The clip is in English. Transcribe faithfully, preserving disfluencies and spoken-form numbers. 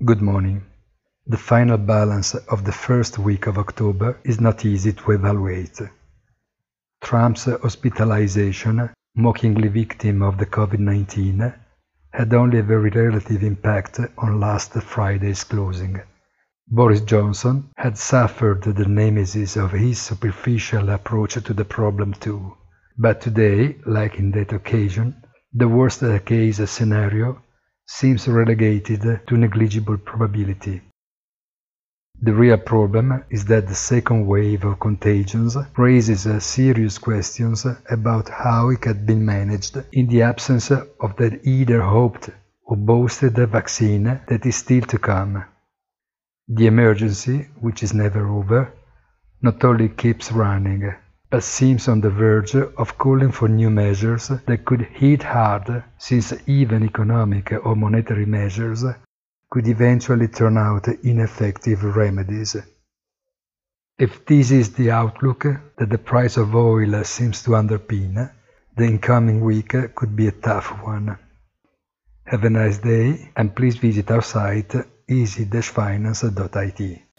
Good morning. The final balance of the first week of October is not easy to evaluate. Trump's hospitalization, mockingly victim of the COVID nineteen, had only a very relative impact on last Friday's closing. Boris Johnson had suffered the nemesis of his superficial approach to the problem too. But today, like in that occasion, the worst-case scenario seems relegated to negligible probability. The real problem is that the second wave of contagions raises serious questions about how it had been managed in the absence of that either hoped or boasted vaccine that is still to come. The emergency, which is never over, not only keeps running, but seems on the verge of calling for new measures that could hit hard, since even economic or monetary measures could eventually turn out ineffective remedies. If this is the outlook that the price of oil seems to underpin, the incoming week could be a tough one. Have a nice day, and please visit our site easy dash finance dot I T.